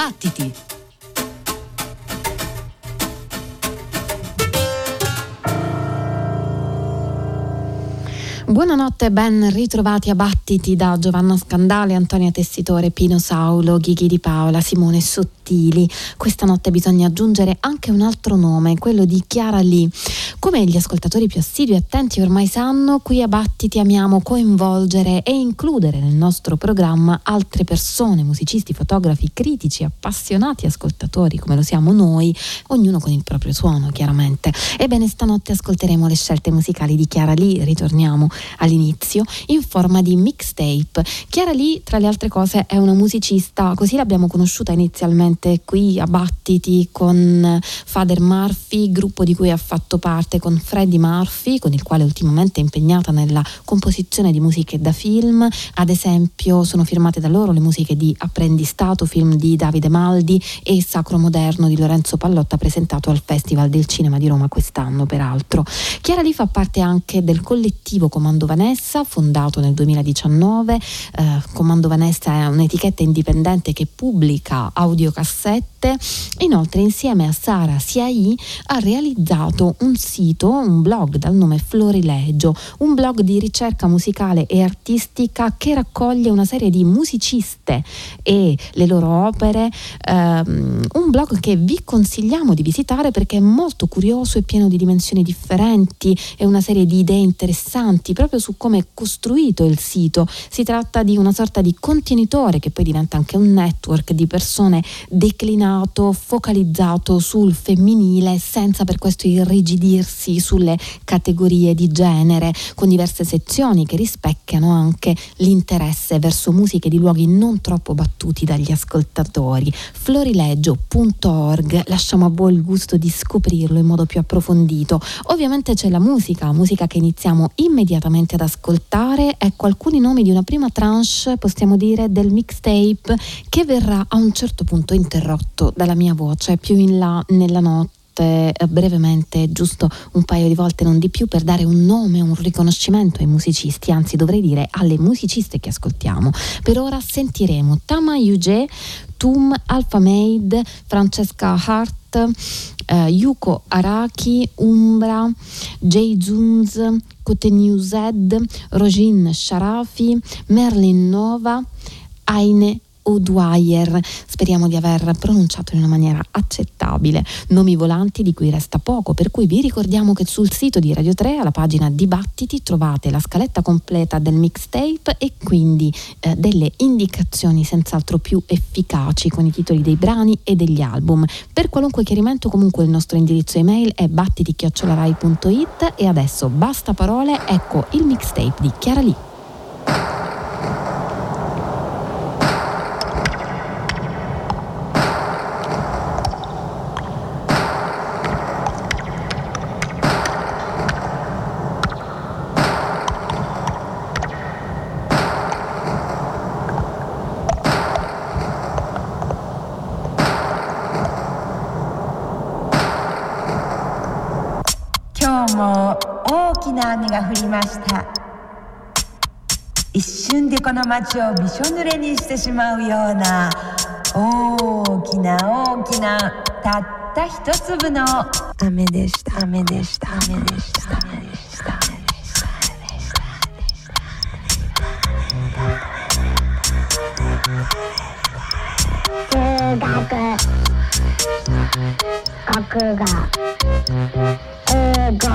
Battiti! Buonanotte e ben ritrovati a Battiti da Giovanna Scandale, Antonia Tessitore, Pino Saulo, Ghighi Di Paola, Simone Sottili. Questa notte bisogna aggiungere anche un altro nome, quello di Chiara Lee. Come gli ascoltatori più assidui e attenti ormai sanno, qui a Battiti amiamo coinvolgere e includere nel nostro programma altre persone, musicisti, fotografi, critici, appassionati ascoltatori come lo siamo noi, ognuno con il proprio suono chiaramente. Ebbene, stanotte ascolteremo le scelte musicali di Chiara Lee, ritorniamo all'inizio, in forma di mixtape. Chiara Lee, tra le altre cose, è una musicista, così l'abbiamo conosciuta inizialmente qui a Battiti con Father Murphy, gruppo di cui ha fatto parte con Freddie Murphy, con il quale ultimamente è impegnata nella composizione di musiche da film. Ad esempio sono firmate da loro le musiche di Apprendistato, film di Davide Maldi, e Sacro Moderno di Lorenzo Pallotta, presentato al Festival del Cinema di Roma quest'anno peraltro. Chiara Lee fa parte anche del collettivo Comando Vanessa, fondato nel 2019. Comando Vanessa è un'etichetta indipendente che pubblica audiocassette. Inoltre, insieme a Sara Siai, ha realizzato un sito, un blog dal nome Florilegio, un blog di ricerca musicale e artistica che raccoglie una serie di musiciste e le loro opere, un blog che vi consigliamo di visitare perché è molto curioso e pieno di dimensioni differenti e una serie di idee interessanti proprio su come è costruito il sito. Si tratta di una sorta di contenitore che poi diventa anche un network di persone declinato, focalizzato sul femminile, senza per questo irrigidirsi sulle categorie di genere, con diverse sezioni che rispecchiano anche l'interesse verso musiche di luoghi non troppo battuti dagli ascoltatori. Florilegio.org, lasciamo a voi il gusto di scoprirlo in modo più approfondito. Ovviamente c'è la musica che iniziamo immediatamente ad ascoltare. Ecco alcuni nomi di una prima tranche, possiamo dire, del mixtape, che verrà a un certo punto interrotto dalla mia voce più in là nella notte, brevemente, giusto un paio di volte, non di più, per dare un nome, un riconoscimento ai musicisti, anzi dovrei dire alle musiciste che ascoltiamo. Per ora sentiremo Tama Yuge, Tum, Alpha Made, Francesca Hart, Yuko Araki, Umbra, Jay Zunz, Koteniu Zed, Rojin Sharafi, Merlin Nova, Aine O'Dwyer. Speriamo di aver pronunciato in una maniera accettabile. Nomi volanti di cui resta poco, per cui vi ricordiamo che sul sito di Radio 3, alla pagina Dibattiti, trovate la scaletta completa del mixtape e quindi delle indicazioni senz'altro più efficaci con i titoli dei brani e degli album. Per qualunque chiarimento, comunque, il nostro indirizzo email è battiti@rai.it. E adesso basta parole, ecco il mixtape di Chiara Lee. 雨が降りました。一瞬でこの街をびしょ濡れにしてしまうような大きな大きなたった一粒の雨でした。雨でした。雨でした。雨でした。数学、国語、英語、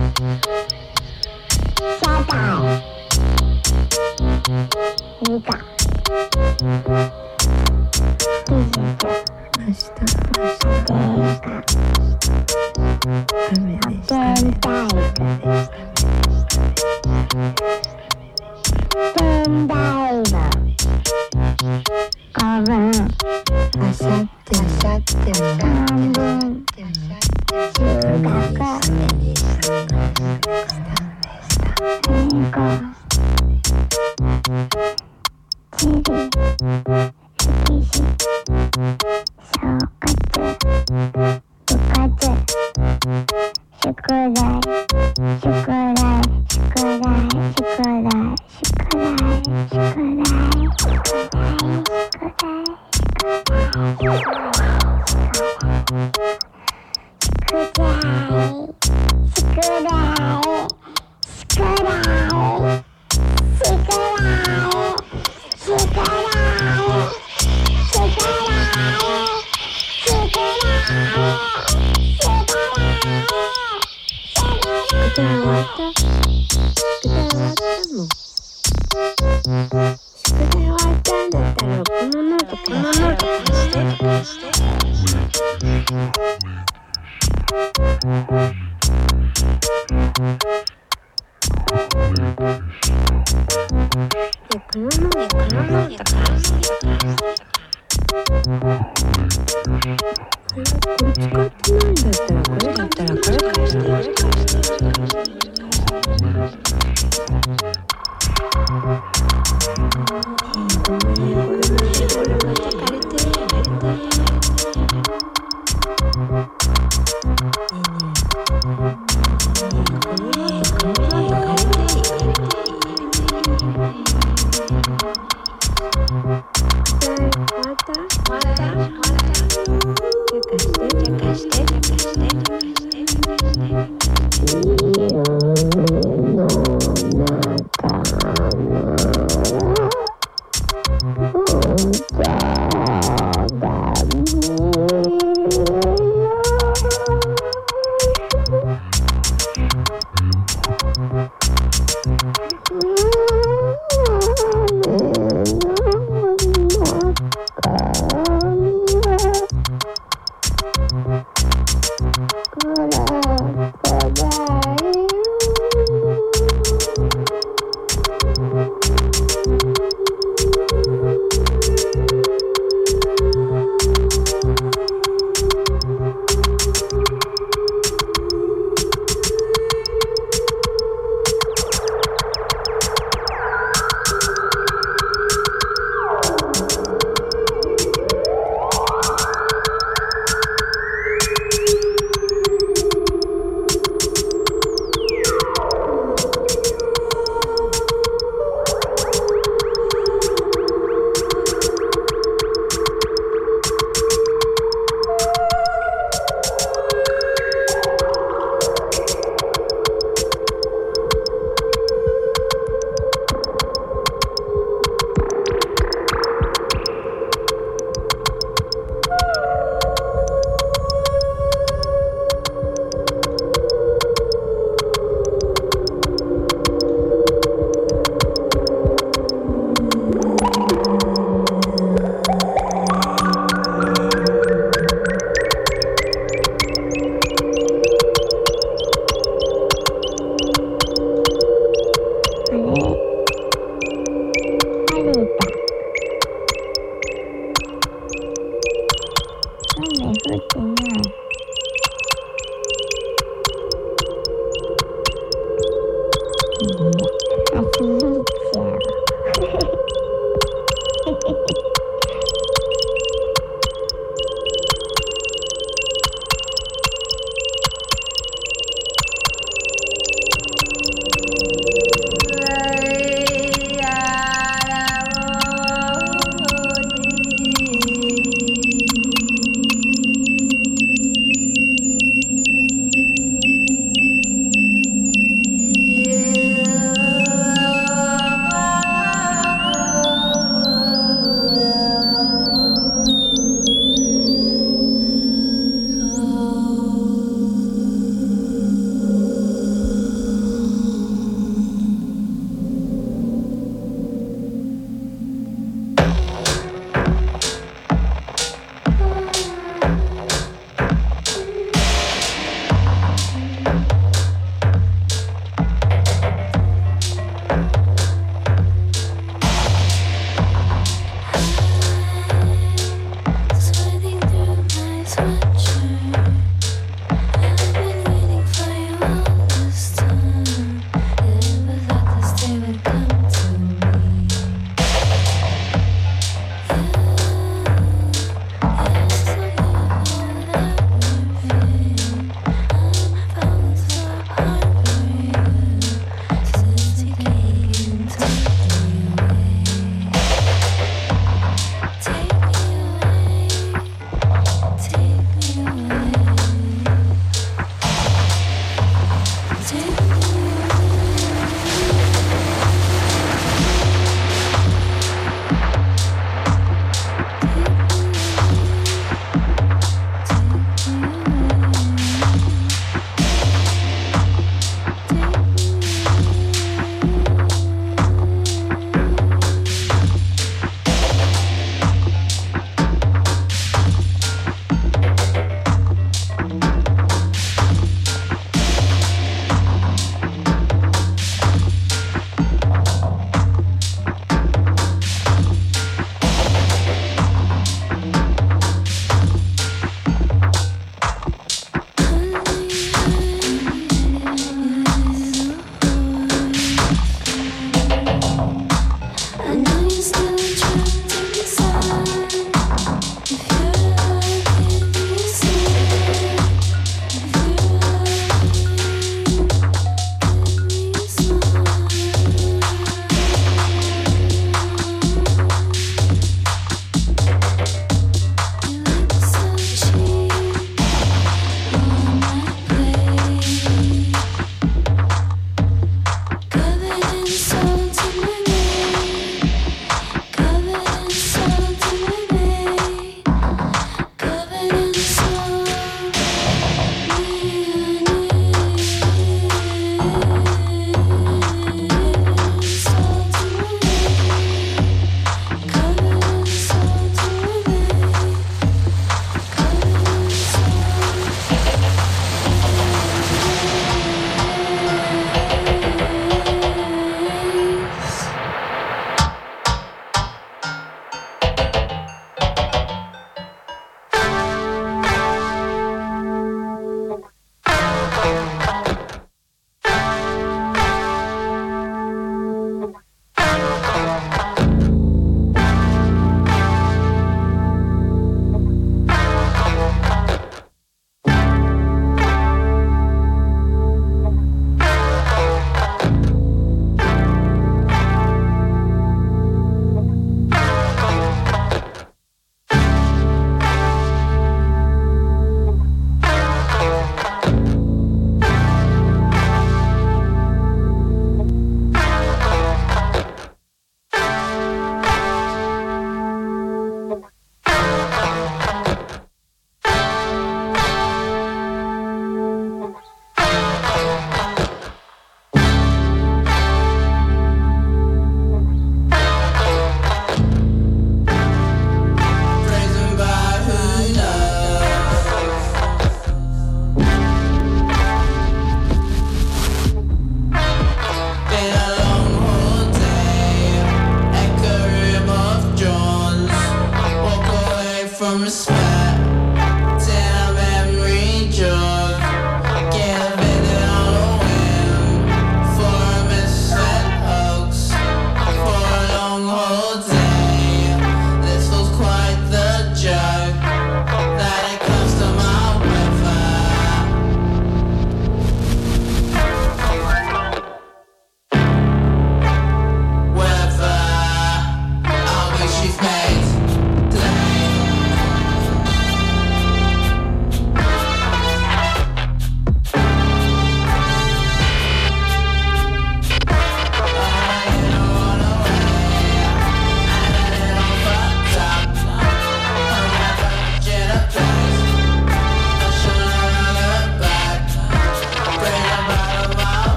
社会、理科、技術、明日、雨でした。天体育、天台部、古文、あさっても漢文、数学、英語、地理、歴史、小活、部活、宿題、宿題、宿題、宿題、宿題、宿題、宿題、宿題、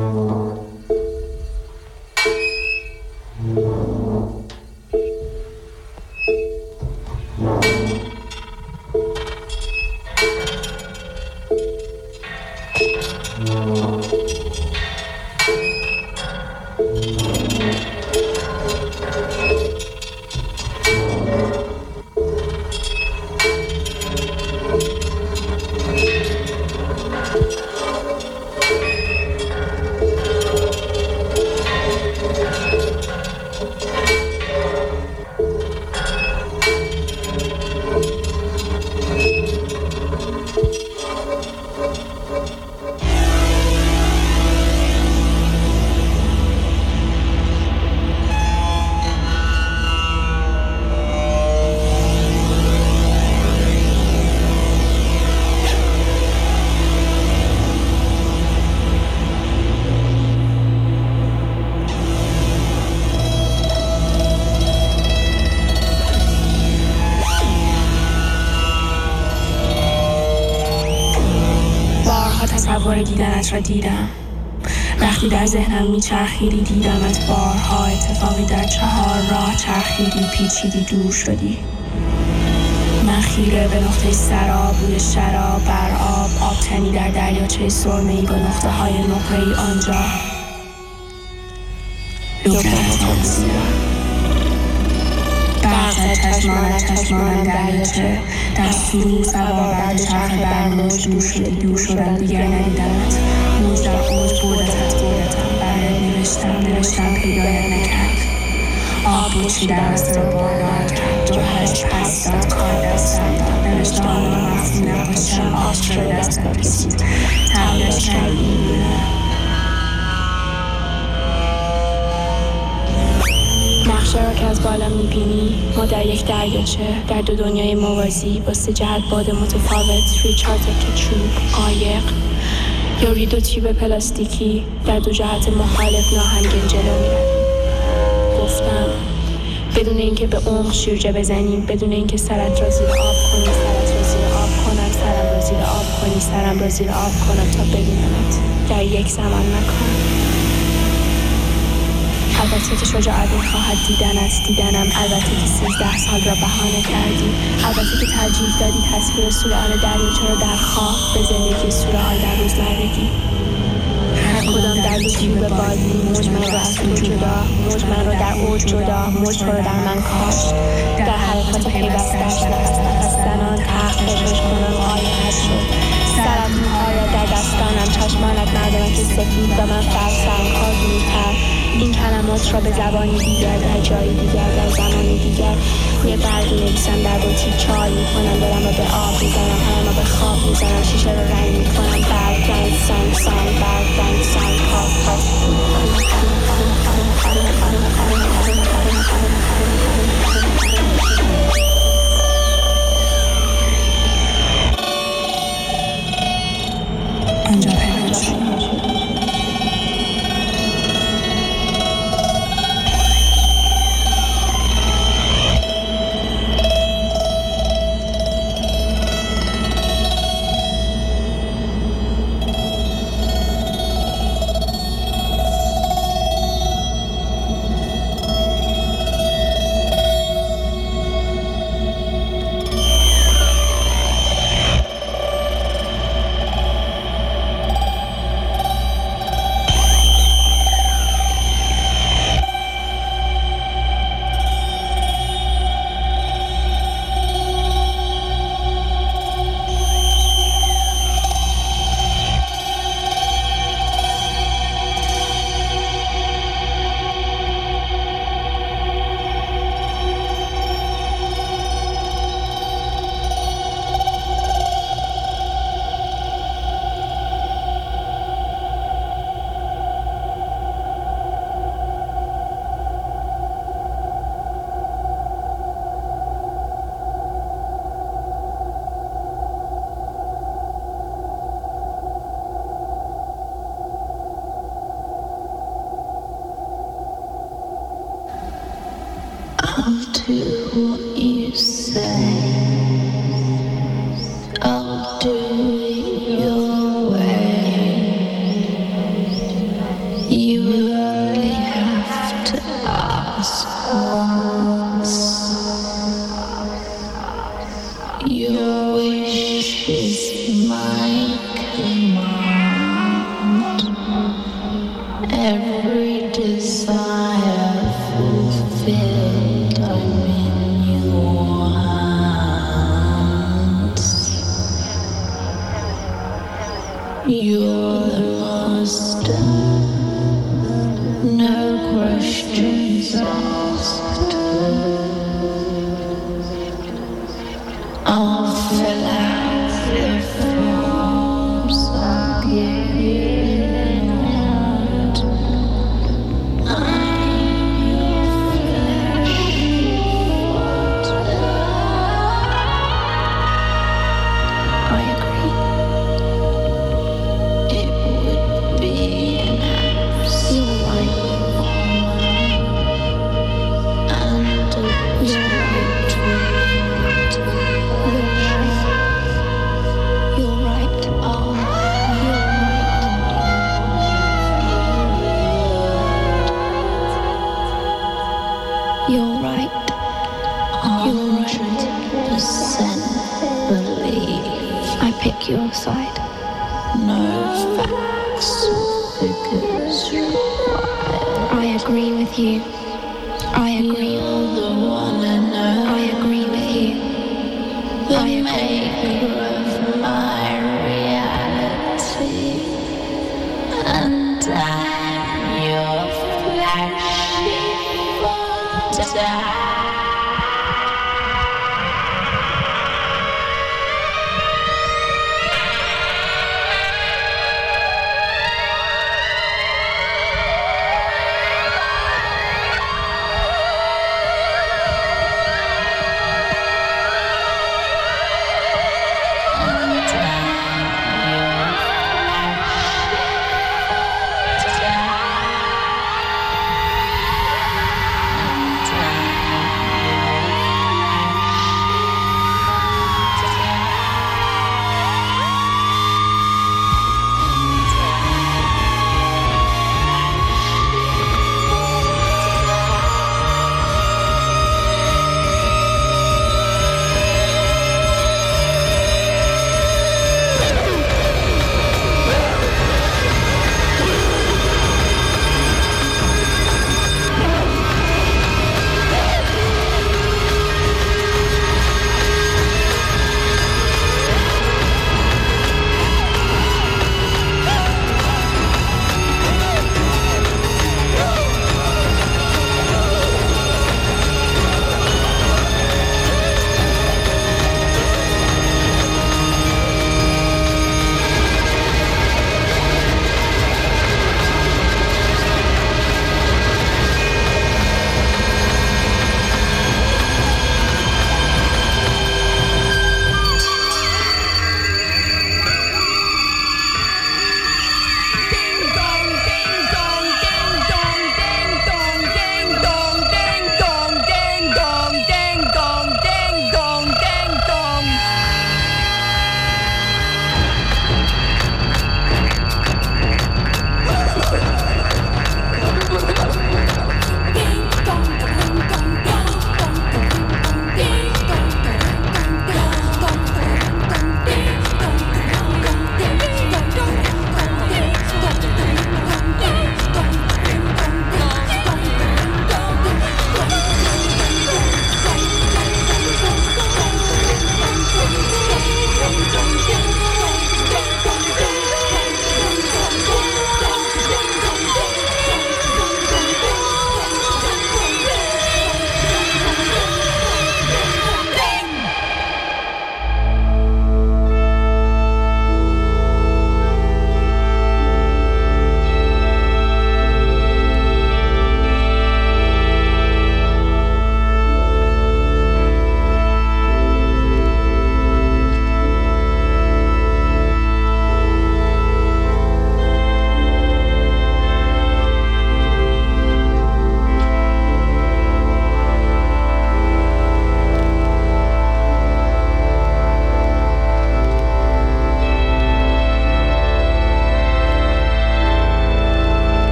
تصور دیدنت را دیدم. وقتی در ذهنم میچرخیدی دیدمت بارها. اتفاقی در 4 راه چرخیدی، پیچیدی، دور شدی. من خیره به نقطه سراب، روی شراب، بر آب تنی در دریاچه سرمه‌ای با نقطه های نقره‌ای آنجا. لبنت بزیرم برق چشمانم دریاچه در سرور سوار بر چرخ بر موج دور شدم دیگر ندیدمت. موج در اوج بردتم برات نوشتم پیدایت نکرد. آب بوشی در دستم باربار کرد، جوهرش پس داد، کار دستم داد. نوشته آنم وقتی نباشم آب شده دستم رسید. تغییرش کردی نقشه را که از بالا میبینی، ما در یک دریاچه، در 2 دنیای موازی با 3 جهت باد متفاوت روی 4 تکه چوب، قایق یا روی 2 تیوب پلاستیکی در 2 جهت مخالف ناهمگن جلو میرویم. گفتم بدون اینکه به عمق شیرجه بزنیم، بدون اینکه سرت را زیر آب کنی، سرت را زیر آب کنم، سرم را زیر آب کنی، سرم را زیر آب کنم تا ببینمت در یک زمان مکان. البته که شجاعت می‌خواهد دیدنم، البته که 13 سال را بهانه کردی، البته که ترجیح دادی تصویر سوره‌آل دریاچه را در خواب به زندگی سوره‌آل در روزمرگی. هر کدام در 2 تیوب بادی، موج من را از تو جدا، موج من را در اوج جدا، موج تو را در من کاشت. در حرکات پیوستش نفس زنان تحقیقش کنم آیه‌اش شد. سرت موها در دستانم، چشمانت مردمک سفید و من فرسم کارگونی‌تر. این کلمات را به زبانی دیگر، در جایی دیگر، در زمانی دیگر روی برگی نویسم، در بطری چای میکنم، دلم را به آب میزنم، همه را به خواب میزنم، شیشه را رنگ میکنم، برگ رنگ سنگ برگ رنگ سنگ آنجا پنهان شد. You only have to ask once. Your wish is my command. Every desire fulfilled, I'm in your hands. You're the master, no questions asked. I'll fill out the forms, I'll give you an hand. I'm your fleshy water. I agree. It would be an absolute and a You're right. Oh, you're right. You're right. 100% believe. I pick your side. No facts or figures required. I agree with you. I agree. You're the one I know. I agree with you. The maker of my reality, and I'm your flashy water.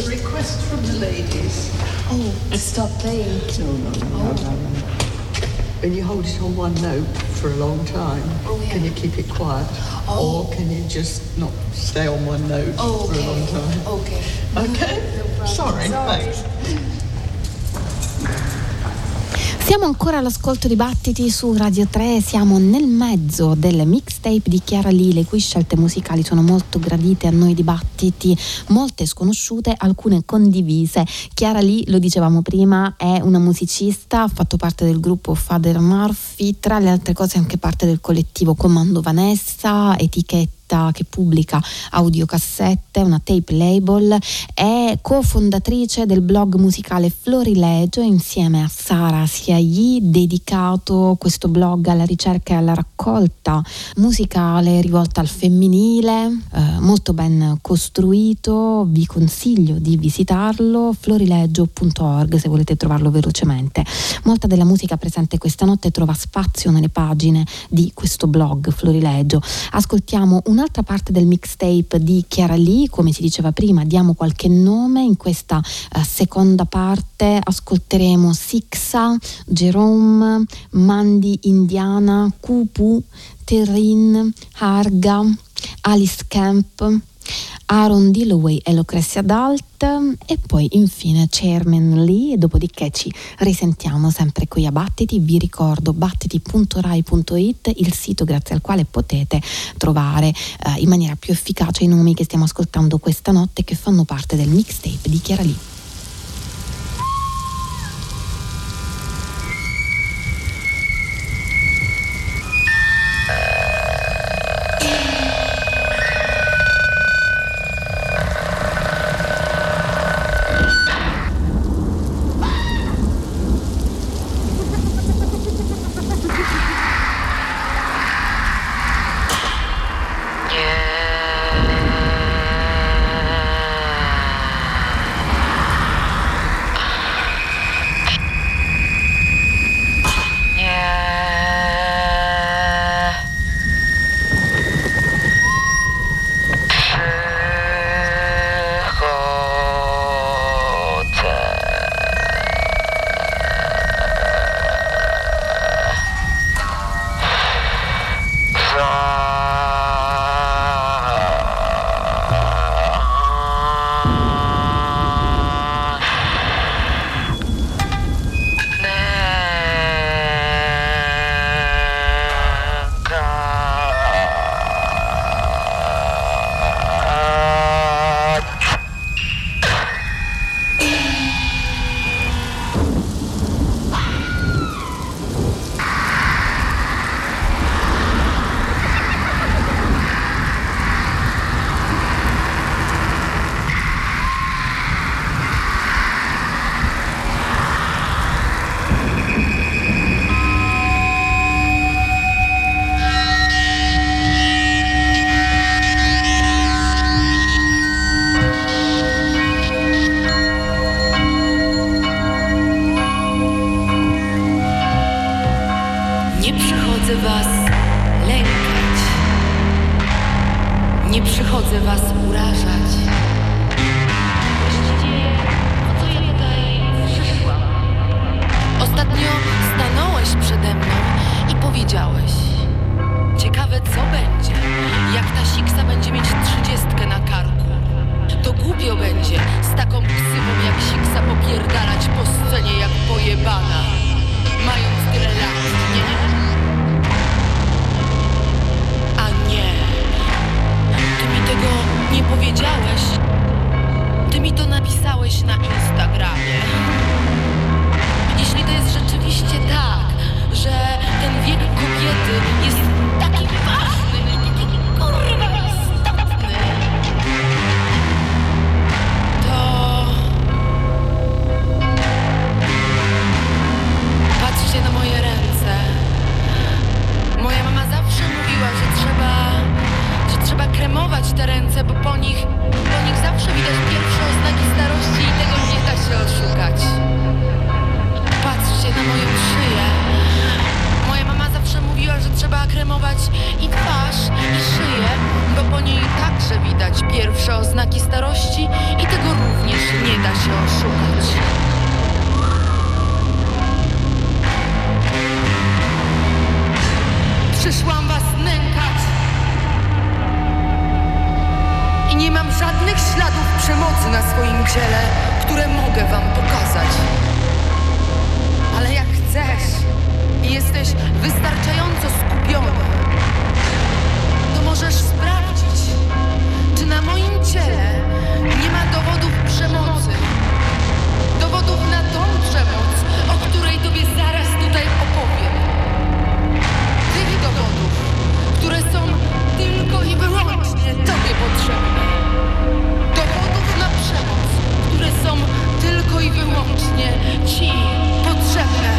a request from the ladies. Oh, stop playing. No. When you hold it on one note for a long time, can you keep it quiet? Or can you just not stay on one note for a long time? Okay? No Sorry. Thanks. Siamo ancora all'ascolto di Battiti su Radio 3, siamo nel mezzo del mixtape di Chiara Lee, le cui scelte musicali sono molto gradite a noi di Battiti, molte sconosciute, alcune condivise. Chiara Lee, lo dicevamo prima, è una musicista, ha fatto parte del gruppo Father Murphy, tra le altre cose anche parte del collettivo Comando Vanessa, etichetta che pubblica audiocassette, una tape label, è cofondatrice del blog musicale Florilegio insieme a Sara Siayi, dedicato questo blog alla ricerca e alla raccolta musicale rivolta al femminile, molto ben costruito, vi consiglio di visitarlo, florilegio.org se volete trovarlo velocemente. Molta della musica presente questa notte trova spazio nelle pagine di questo blog Florilegio. Ascoltiamo un'altra parte del mixtape di Chiara Lee, come si diceva prima, diamo qualche nome. In questa seconda parte ascolteremo Sixa, Jerome, Mandy Indiana, Kupu, Terrin, Harga, Alice Camp, Aaron Dilloway e Lucrezia Dalt e poi infine Chairman Lee, e dopodiché ci risentiamo sempre qui a Battiti. Vi ricordo battiti.rai.it, il sito grazie al quale potete trovare in maniera più efficace i nomi che stiamo ascoltando questa notte, che fanno parte del mixtape di Chiara Lee. Pierwsze oznaki starości i tego również mam żadnych śladów przemocy na swoim ciele, które mogę wam pokazać. Ale jak chcesz i jesteś wystarczająco skupiony, to możesz sprawdzić, czy na moim ciele nie ma dowodów przemocy. Dowodów na tą przemoc, o której tobie zaraz tutaj opowiem. Tych dowodów, które są tylko i wyłącznie tobie potrzebne. Dowodów na przemoc, które są tylko i wyłącznie ci potrzebne.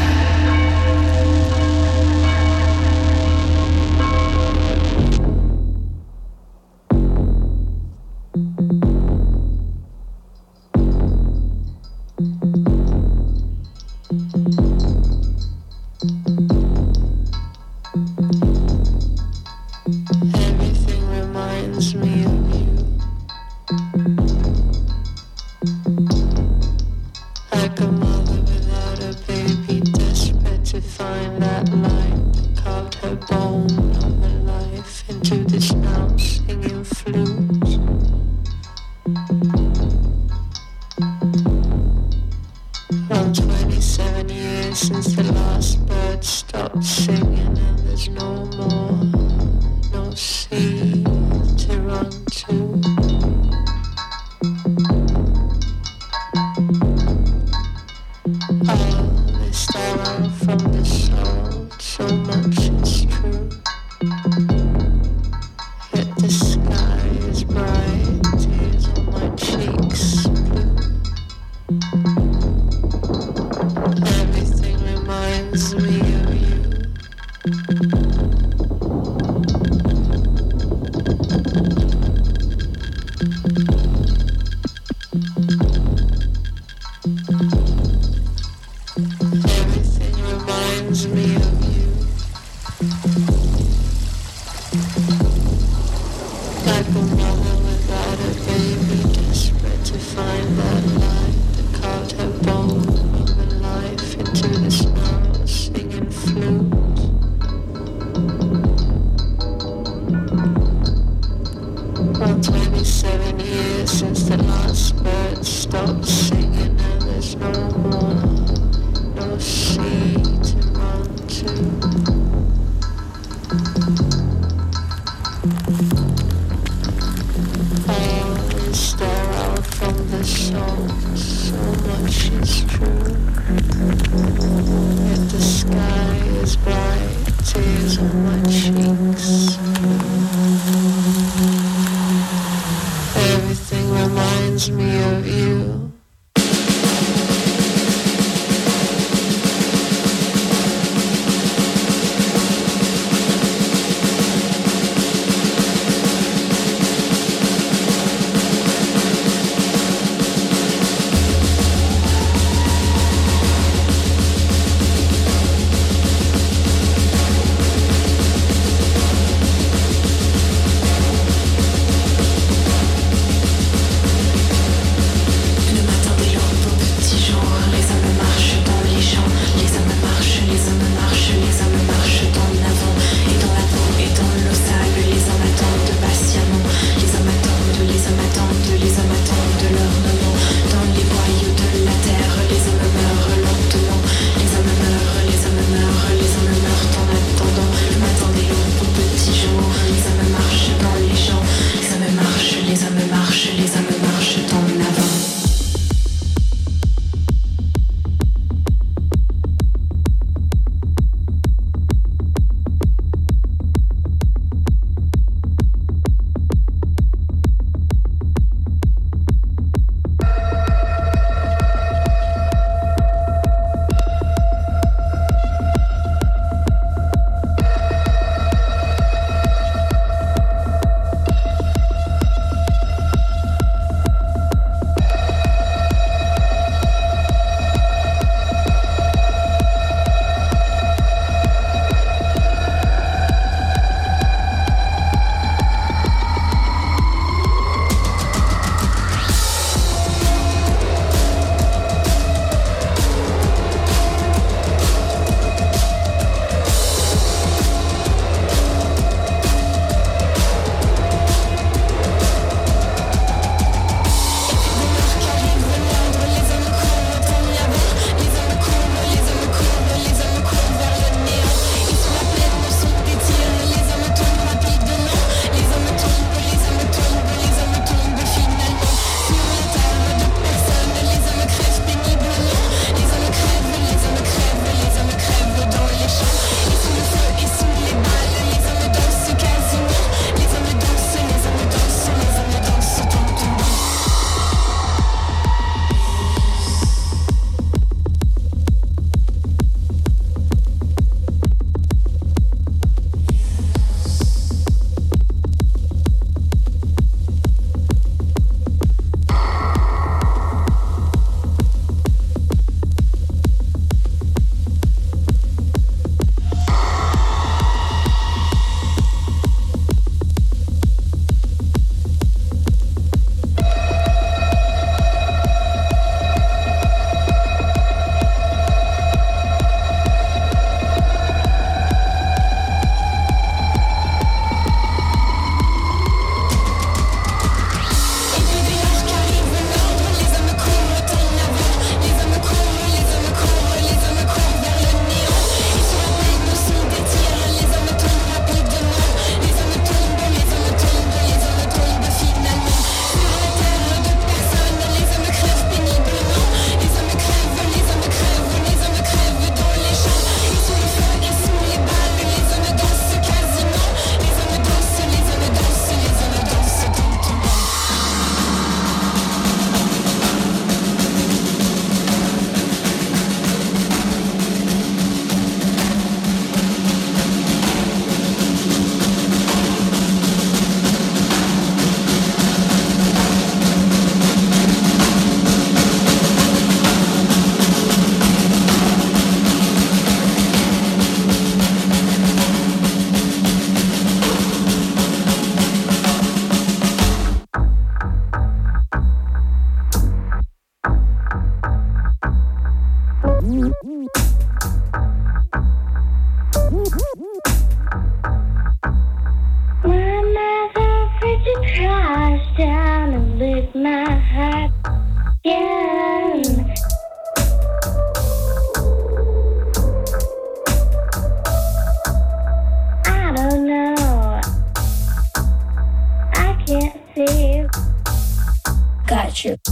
Got you.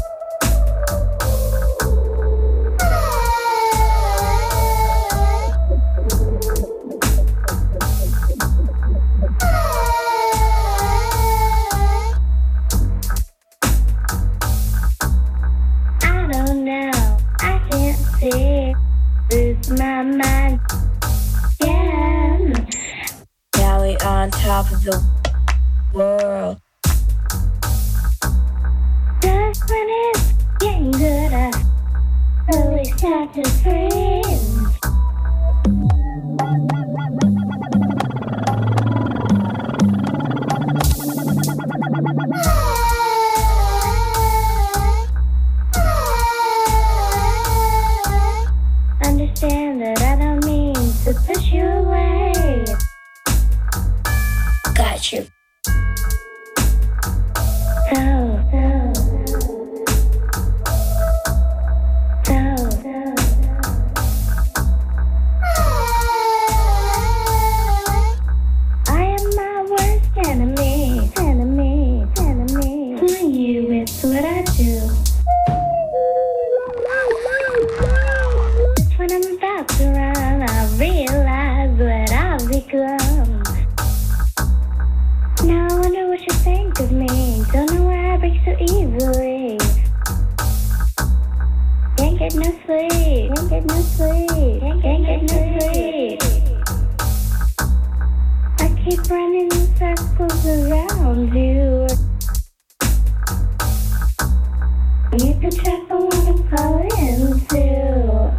I don't know, I can't see, lose my mind. Yeah. Now we on top of the world. Just when it's getting good, so we start to freeze. Understand that I don't mean to push you away. Got you. I am my worst enemy. Fooling you is what I do. Just when I'm about to run, I realize what I've become. Now I wonder what you think of me. Don't know why I break so easily. Can't get no sleep. I keep running in circles around you. You can trap I wanna fall into.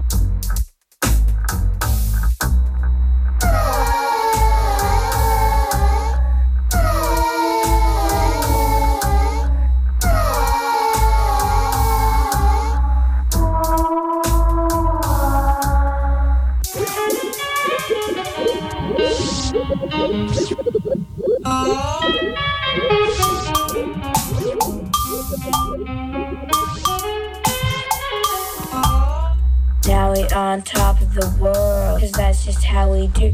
Now we on top of the world, 'cause that's just how we do.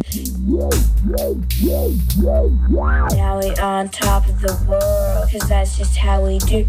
Now we on top of the world, 'cause that's just how we do.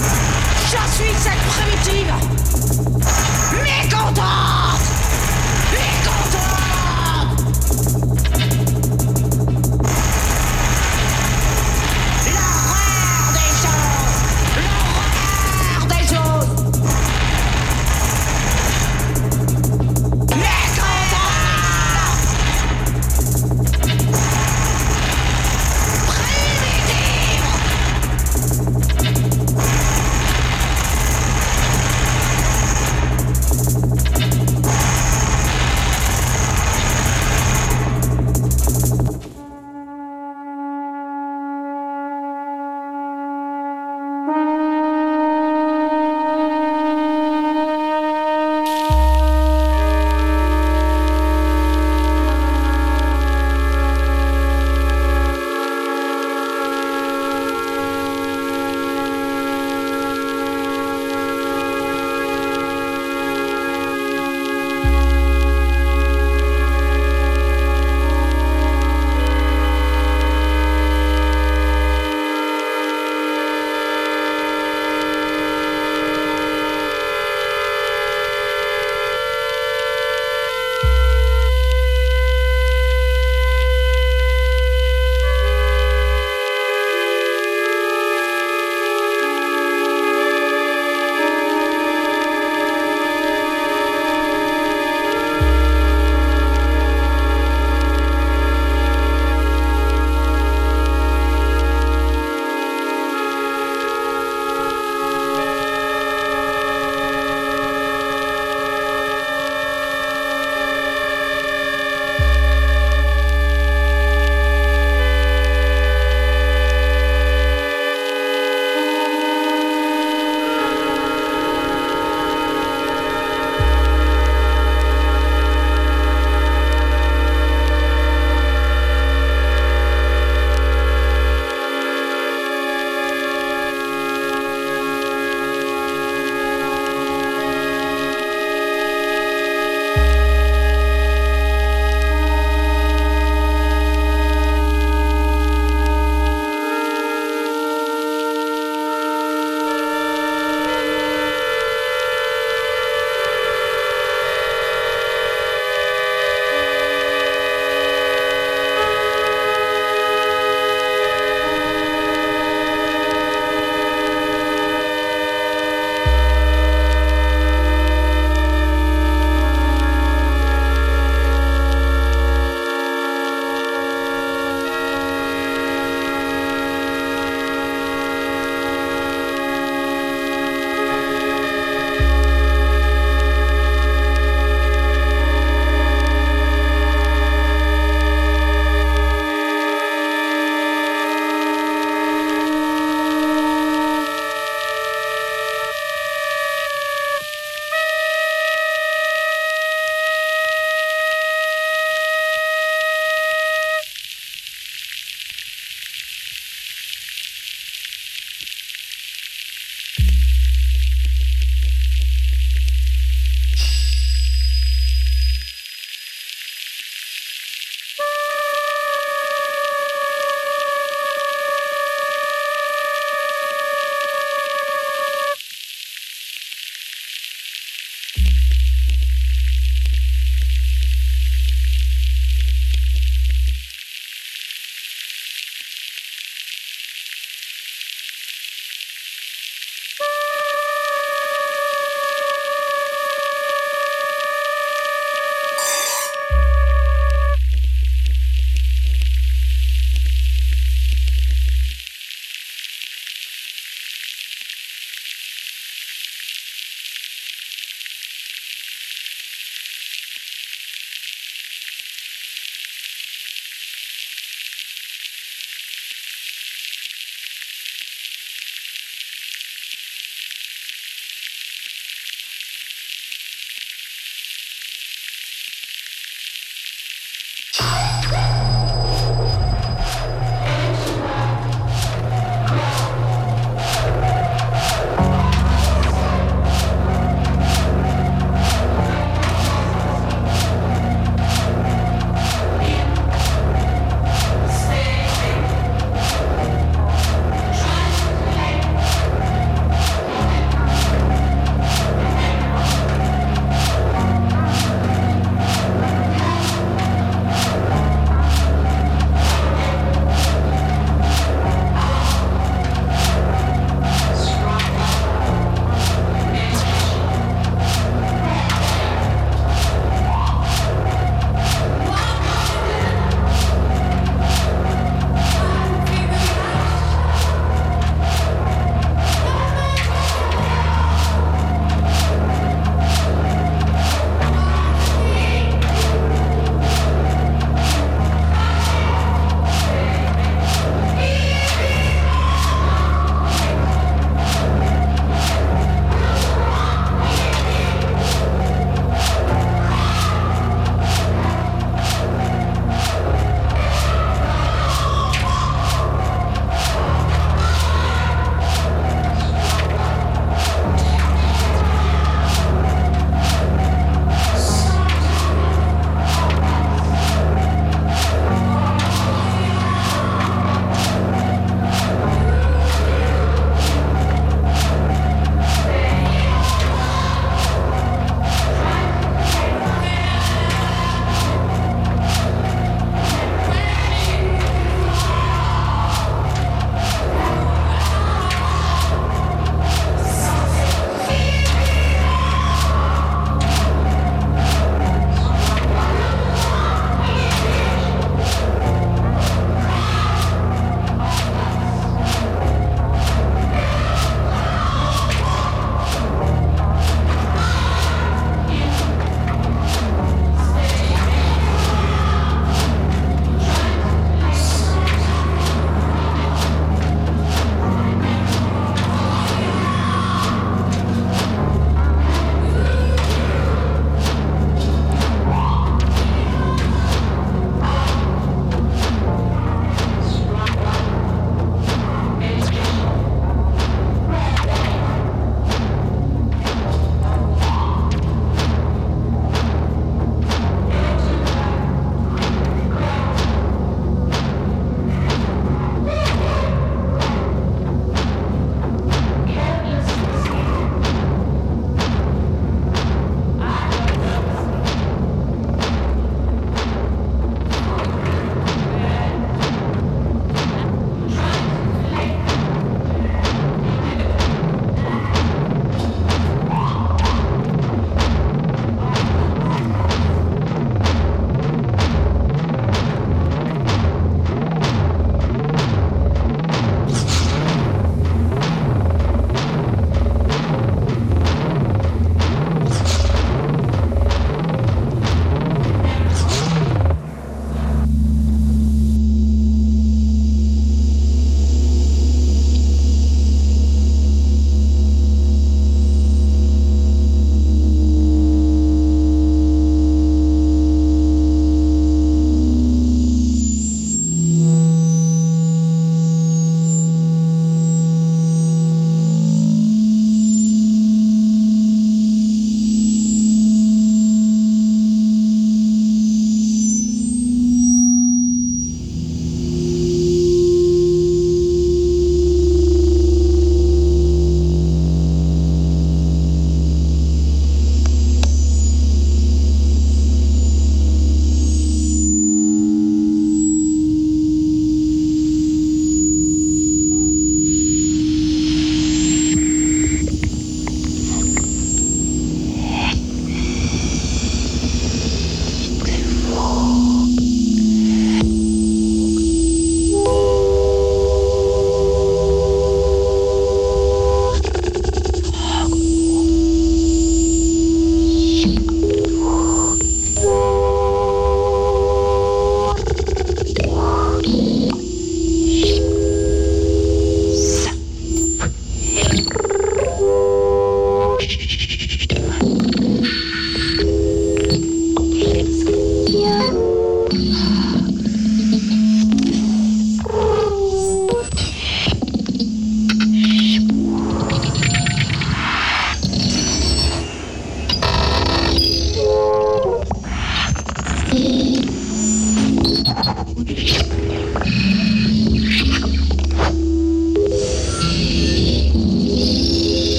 Je suis cette primitive mécontente. Mécontente. L'horreur des choses. L'horreur des choses.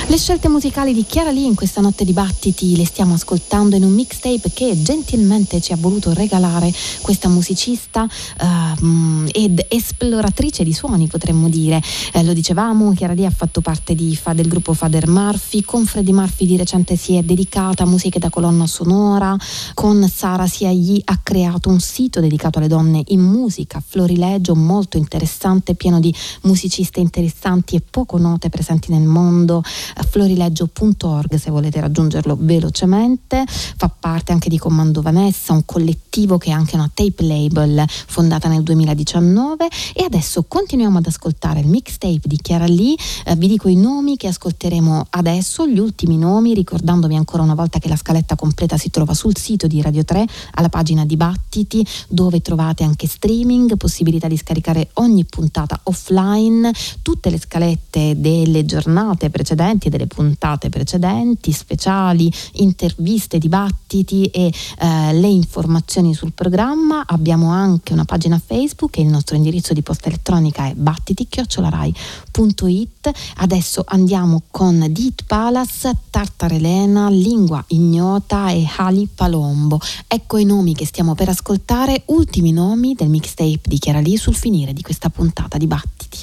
Le scelte musicali di Chiara Lee in questa notte di battiti le stiamo ascoltando in un mixtape che gentilmente ci ha voluto regalare questa musicista ed esploratrice di suoni, potremmo dire. Lo dicevamo, Chiara Lee ha fatto parte del gruppo Father Murphy. Con Freddie Murphy di recente si è dedicata a musiche da colonna sonora. Con Sara Siayi ha creato un sito dedicato alle donne in musica, Florilegio, molto interessante, pieno di musiciste interessanti e poco note presenti nel mondo. Florilegio.org se volete raggiungerlo velocemente. Fa parte anche di Comando Vanessa, un collettivo che è anche una tape label fondata nel 2019. E adesso continuiamo ad ascoltare il mixtape di Chiara Lee. Vi dico i nomi che ascolteremo adesso, gli ultimi nomi, ricordandovi ancora una volta che la scaletta completa si trova sul sito di Radio 3 alla pagina Dibattiti, dove trovate anche streaming, possibilità di scaricare ogni puntata offline, tutte le scalette delle giornate precedenti e delle puntate precedenti, speciali, interviste, dibattiti e le informazioni sul programma. Abbiamo anche una pagina Facebook e il nostro indirizzo di posta elettronica è battiti@rai.it. Adesso andiamo con Dit Palace, Tartarelena, Lingua Ignota e Ali Palombo. Ecco i nomi che stiamo per ascoltare, ultimi nomi del mixtape di Chiara Lee sul finire di questa puntata di Battiti.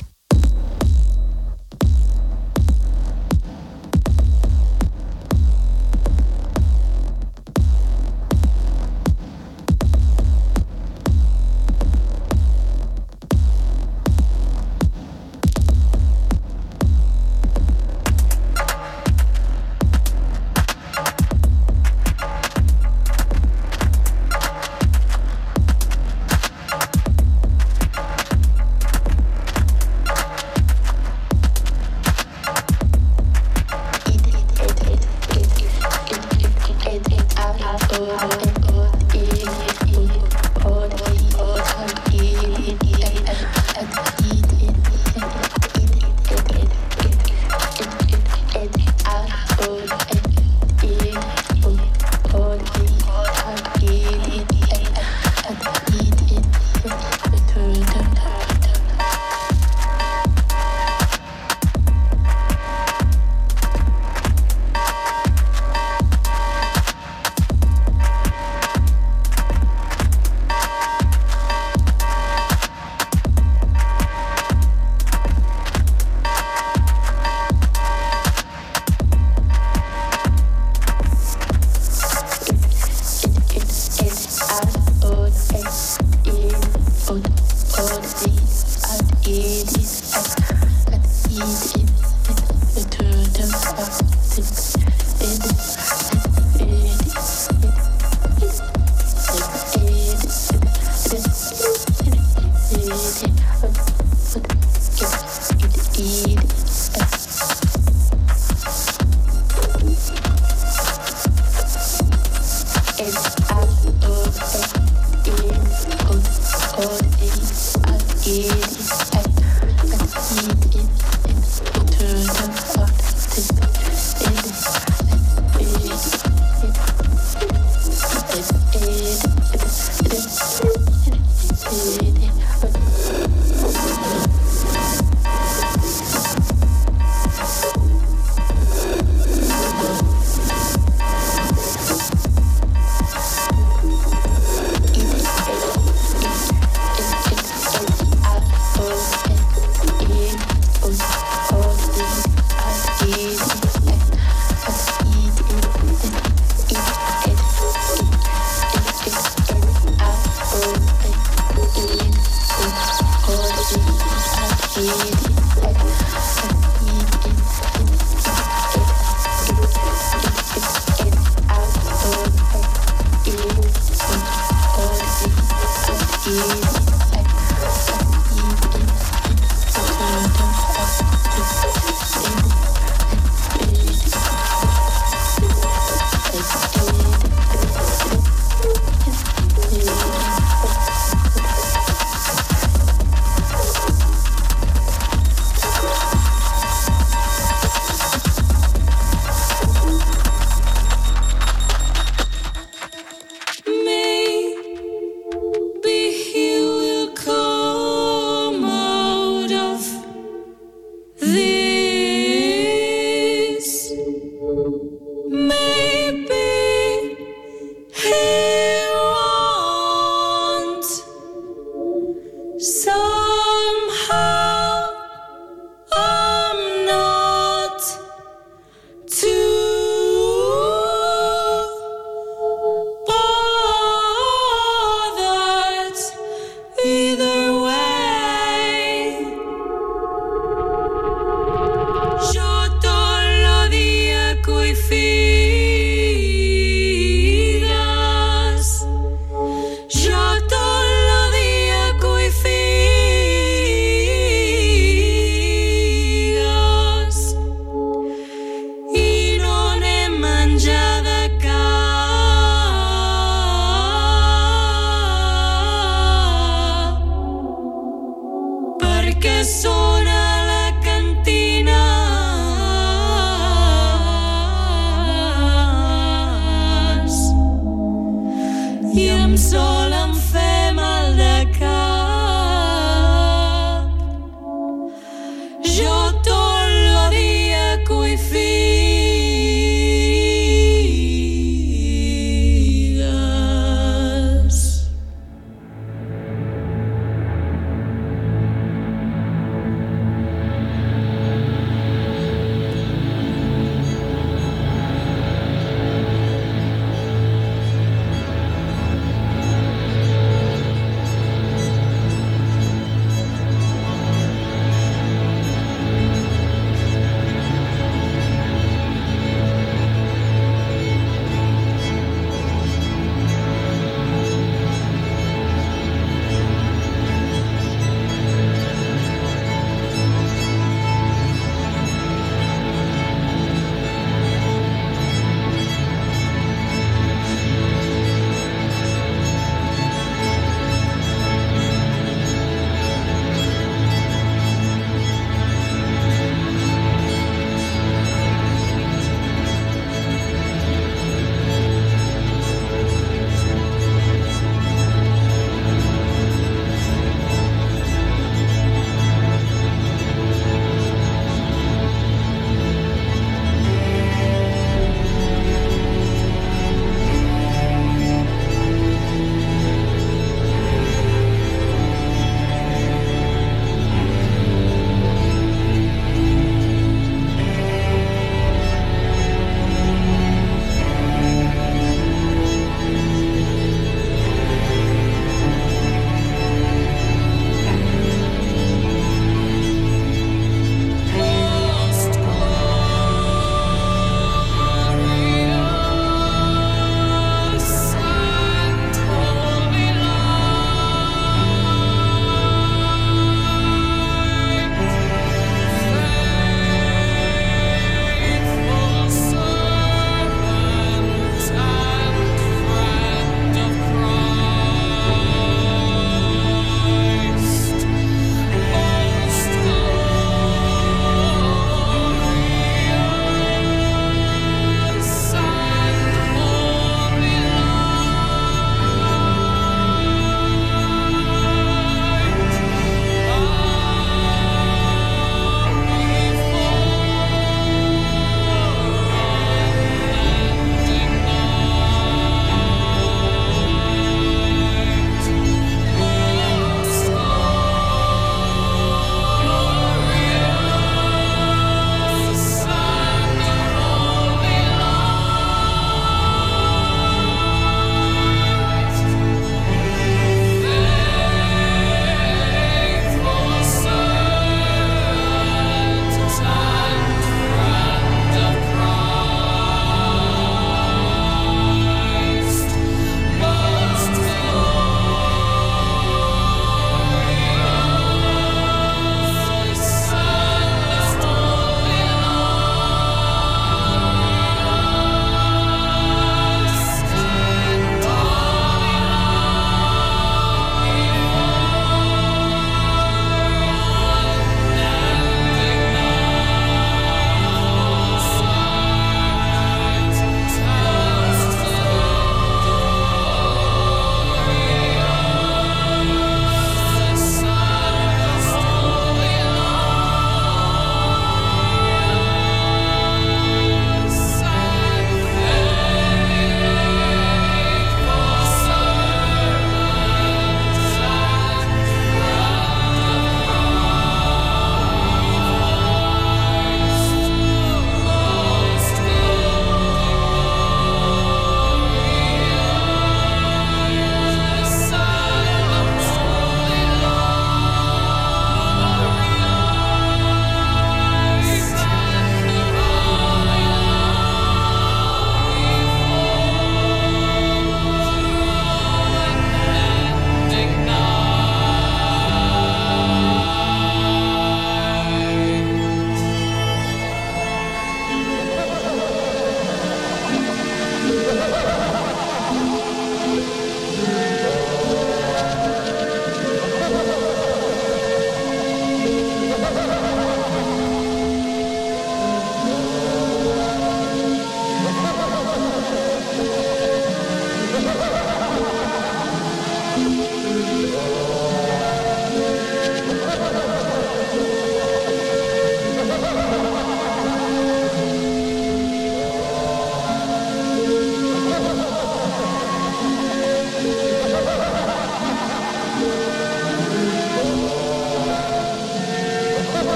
I em sol em fe mal de cap. Jo tot lo dia coi figues.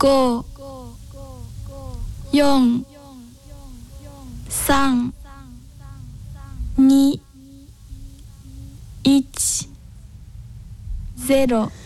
5、4、3、2、1、0